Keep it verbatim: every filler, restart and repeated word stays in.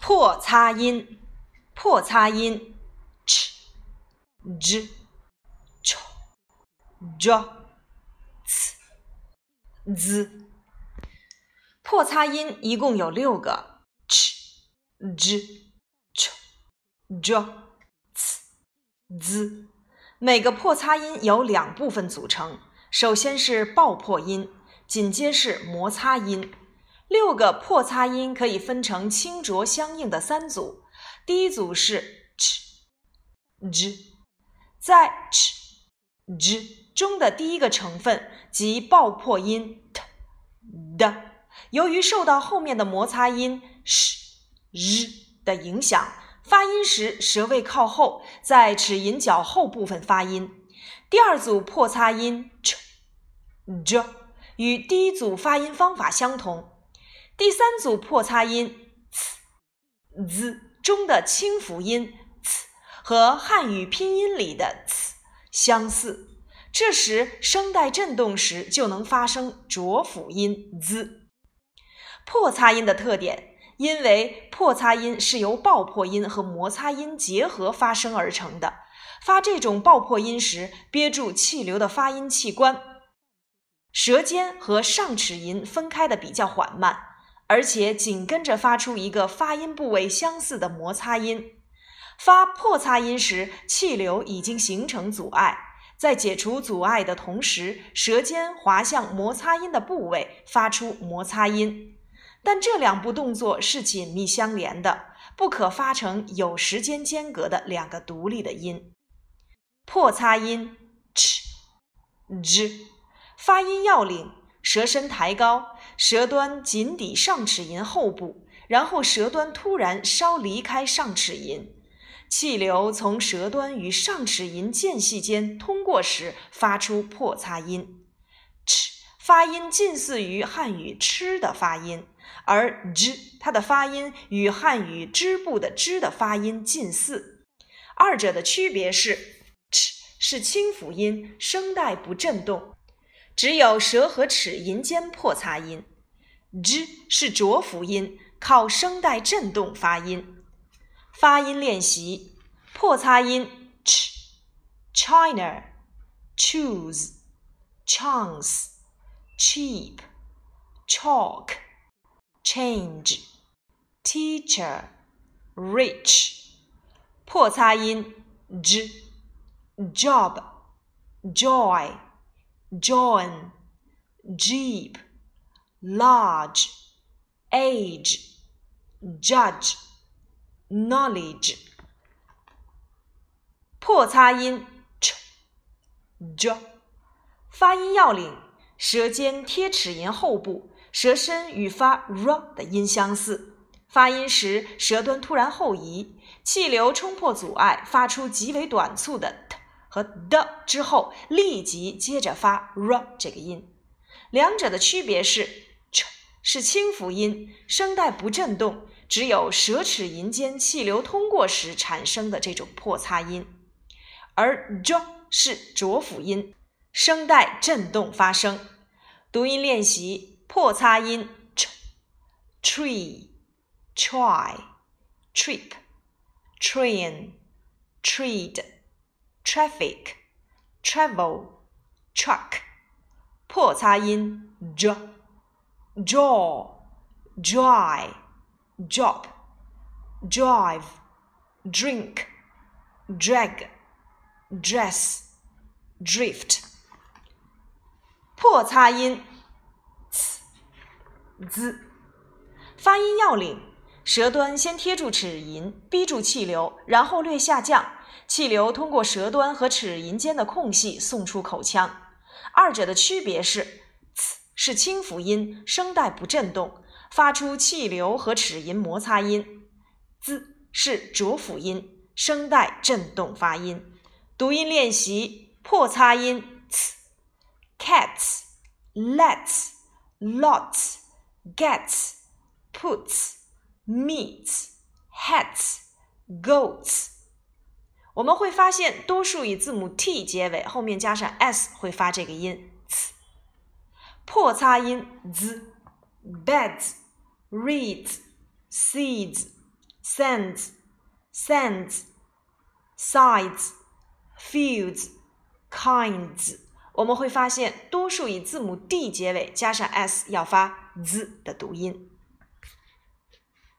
破擦音，破擦音 ch j ch j c z。破擦音一共有六个 ch j ch j c z。每个破擦音由两部分组成，首先是爆破音，紧接是摩擦音。六个破擦音可以分成清浊相应的三组，第一组是 ch j， 在 ch j 中的第一个成分即爆破音 t d， 由于受到后面的摩擦音 sh r 的影响，发音时舌位靠后，在齿龈较后部分发音。第二组破擦音 ch j 与第一组发音方法相同。第三组破擦音 c z 中的清辅音 c 和汉语拼音里的 c 相似，这时声带振动时就能发生浊辅音 z。 破擦音的特点，因为破擦音是由爆破音和摩擦音结合发生而成的，发这种爆破音时，憋住气流的发音器官舌尖和上齿龈分开的比较缓慢，而且紧跟着发出一个发音部位相似的摩擦音。发破擦音时，气流已经形成阻碍，在解除阻碍的同时，舌尖滑向摩擦音的部位，发出摩擦音。但这两步动作是紧密相连的，不可发成有时间间隔的两个独立的音。破擦音 ch j 发音要领：舌身抬高，舌端紧抵上齿龈后部，然后舌端突然稍离开上齿龈，气流从舌端与上齿龈间隙间通过时发出破擦音。 ch 发音近似于汉语吃的发音，而 j 它的发音与汉语织布的织的发音近似，二者的区别是 ch 是清辅音，声带不振动，只有舌和齿龈间破擦音， j 是浊辅音，靠声带振动发音。发音练习：破擦音 ch China choose chance cheap chalk change teacher rich。破擦音 j job joy join jeep large age judge knowledge。破擦音 ch j 发音要领：舌尖贴齿龈后部，舌身与发 r 的音相似，发音时舌端突然后移，气流冲破阻碍，发出极为短促的 t 和 d 之后，立即接着发 r 这个音。两者的区别是 ch 是清辅音，声带不振动，只有舌齿龈间气流通过时产生的这种破擦音，而 j 是浊辅音，声带振动发声。读音练习：破擦音 ch tree try trip train treat traffic travel truck。破擦音 j jaw dry job drive drink drag dress drift。破擦音 c z 发音要领：舌端先贴住齿龈，逼住气流，然后略下降，气流通过舌端和齿龈间的空隙送出口腔。二者的区别是 c 是清辅音，声带不振动，发出气流和齿龈摩擦音， z 是浊辅音，声带振动发音。读音练习：破擦音 c cats lets lots gets puts meets hats goats。 我们会发现多数以字母 t 结尾，后面加上 s 会发这个音 c。 破擦音 z beds reads seeds Sands, sands, sides, fields, kinds。我们会发现多数以字母 d 结尾加上 s 要发 z 的读音。